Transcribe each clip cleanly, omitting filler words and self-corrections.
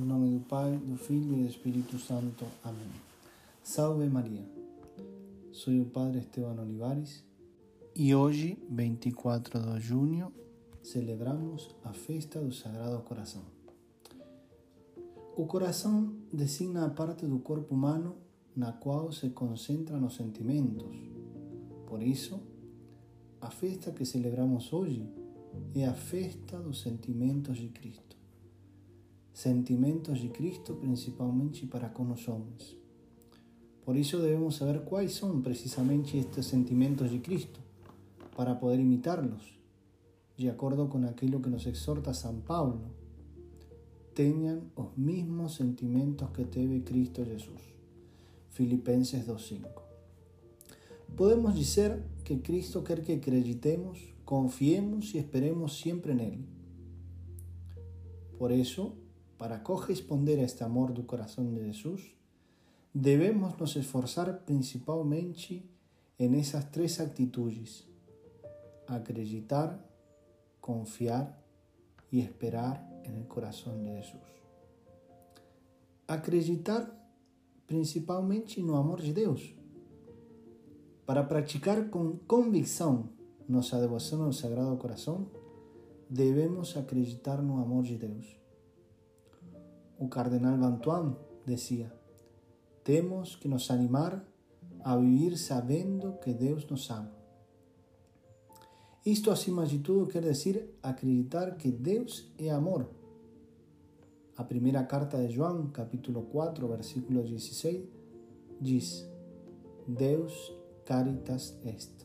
Em nome do Pai, do Filho e do Espírito Santo. Amém. Salve Maria. Sou o Padre Esteban Olivares e hoje, 24 de junho, celebramos a festa do Sagrado Coração. O coração designa a parte do corpo humano na qual se concentram os sentimentos. Por isso, a festa que celebramos hoje é a festa dos sentimentos de Cristo. Sentimentos de Cristo principalmente para com os homens. Por isso devemos saber quais são precisamente estes sentimentos de Cristo, para poder imitarlos, de acordo com aquilo que nos exorta São Paulo. Tenham os mesmos sentimentos que teve Cristo Jesus. Filipenses 2:5. Podemos dizer que Cristo quer que acreditemos, confiemos e esperemos sempre nele. Por isso, para corresponder a este amor do coração de Jesus, devemos nos esforçar principalmente em essas três atitudes: acreditar, confiar e esperar no coração de Jesus. Acreditar principalmente no amor de Deus. Para praticar com convicção nossa devoção ao Sagrado Coração, devemos acreditar no amor de Deus. O cardenal Bantuan dizia: temos que nos animar a viver sabendo que Deus nos ama. Isto, acima de tudo, quer dizer acreditar que Deus é amor. A primeira carta de João, capítulo 4, versículo 16, diz: Deus caritas est.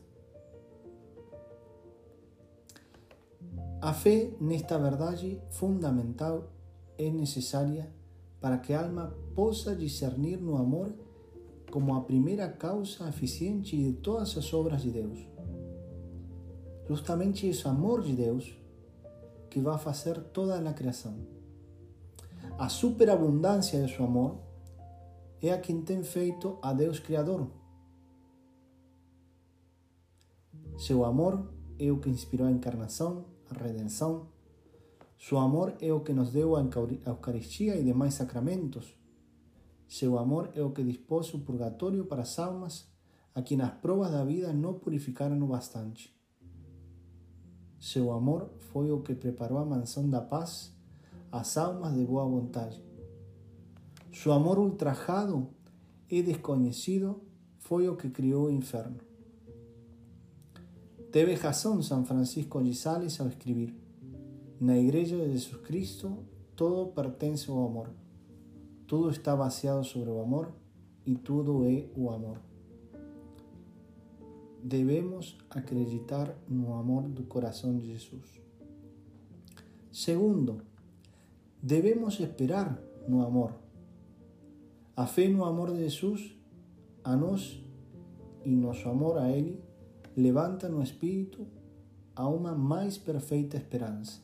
A fé nesta verdade fundamental é necessária para que a alma possa discernir no amor como a primeira causa eficiente de todas as obras de Deus. Justamente esse amor de Deus que vai fazer toda a criação. A superabundância de seu amor é a quem tem feito a Deus Criador. Seu amor é o que inspirou a encarnação, a redenção. Seu amor é o que nos deu a Eucaristia e demais sacramentos. Seu amor é o que dispôs o purgatório para as almas a quem as provas da vida não purificaram o bastante. Seu amor foi o que preparou a mansão da paz às almas de boa vontade. Seu amor ultrajado e desconhecido foi o que criou o inferno. Teve razão São Francisco de Sales ao escrever: na Igreja de Jesus Cristo, todo pertence ao amor. Tudo está baseado sobre o amor e tudo é o amor. Devemos acreditar no amor do coração de Jesus. Segundo, devemos esperar no amor. A fé no amor de Jesus a nós e nosso amor a Ele levanta no espírito a uma mais perfeita esperança.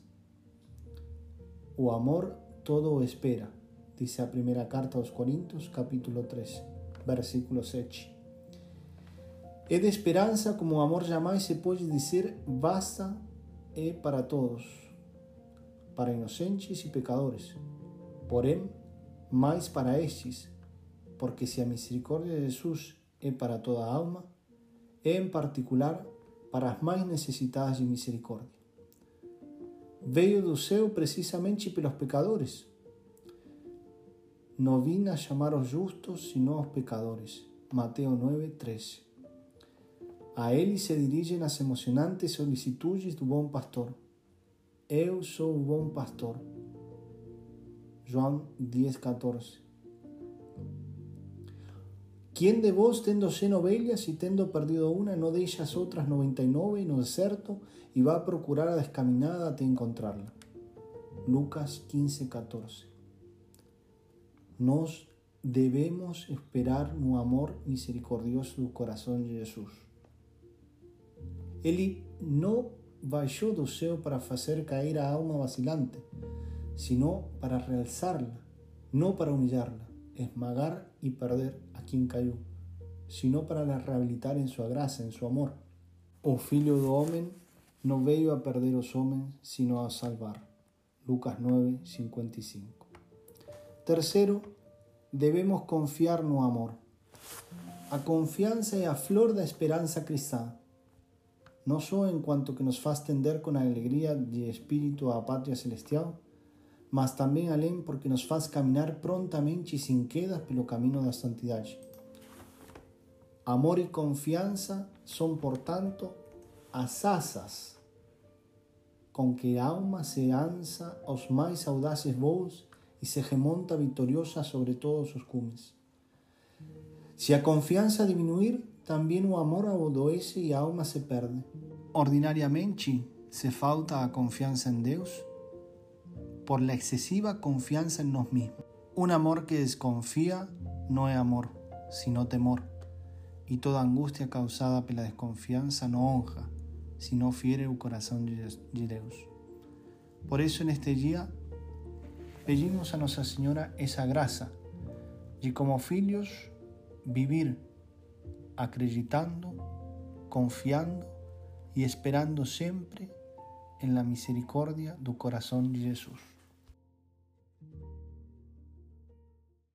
O amor todo o espera, diz a primeira carta aos Coríntios, capítulo 3, versículo 7. É de esperança como o amor jamais se pode dizer basta é para todos, para inocentes e pecadores, porém, mais para estes, porque se a misericórdia de Jesus é para toda a alma, é em particular para as mais necessitadas de misericórdia. Veio do céu precisamente pelos pecadores. Não vim a chamar os justos, senão os pecadores. Mateus 9:13. A ele se dirigem as emocionantes solicitudes do bom pastor. Eu sou o bom pastor. João 10:14. Quem de vós, tendo 100 ovelhas e tendo perdido uma, não deixa as outras 99 no deserto e vai procurar a descaminada até encontrá-la? Lucas 15:14. Nós devemos esperar no amor misericordioso do coração de Jesus. Ele não baixou do céu para fazer cair a alma vacilante, sino para realçá-la, não para humilhá-la, esmagar e perder a quem caiu, sino para la reabilitar em sua graça, em seu amor. O Filho do Homem não veio a perder os homens, sino a salvar. Lucas 9:55. Tercero, devemos confiar no amor. A confiança é a flor da esperança cristã, não só enquanto que nos faz tender com alegria de espírito à pátria celestial, mas também além porque nos faz caminhar prontamente e sem quedas pelo caminho da santidade. Amor e confiança são, portanto, as asas com que a alma se lança aos mais audazes voos e se remonta vitoriosa sobre todos os cumes. Se a confiança diminuir, também o amor adoece e a alma se perde. Ordinariamente, se falta a confiança em Deus por la excesiva confiança em nós mesmos. Um amor que desconfia não é amor, sino temor. E toda angústia causada pela desconfiança não honra, sino fiere o coração de Deus. Por isso, neste dia, pedimos a Nossa Senhora essa graça de, como filhos, vivir acreditando, confiando e esperando sempre en la misericordia do corazón de Jesús.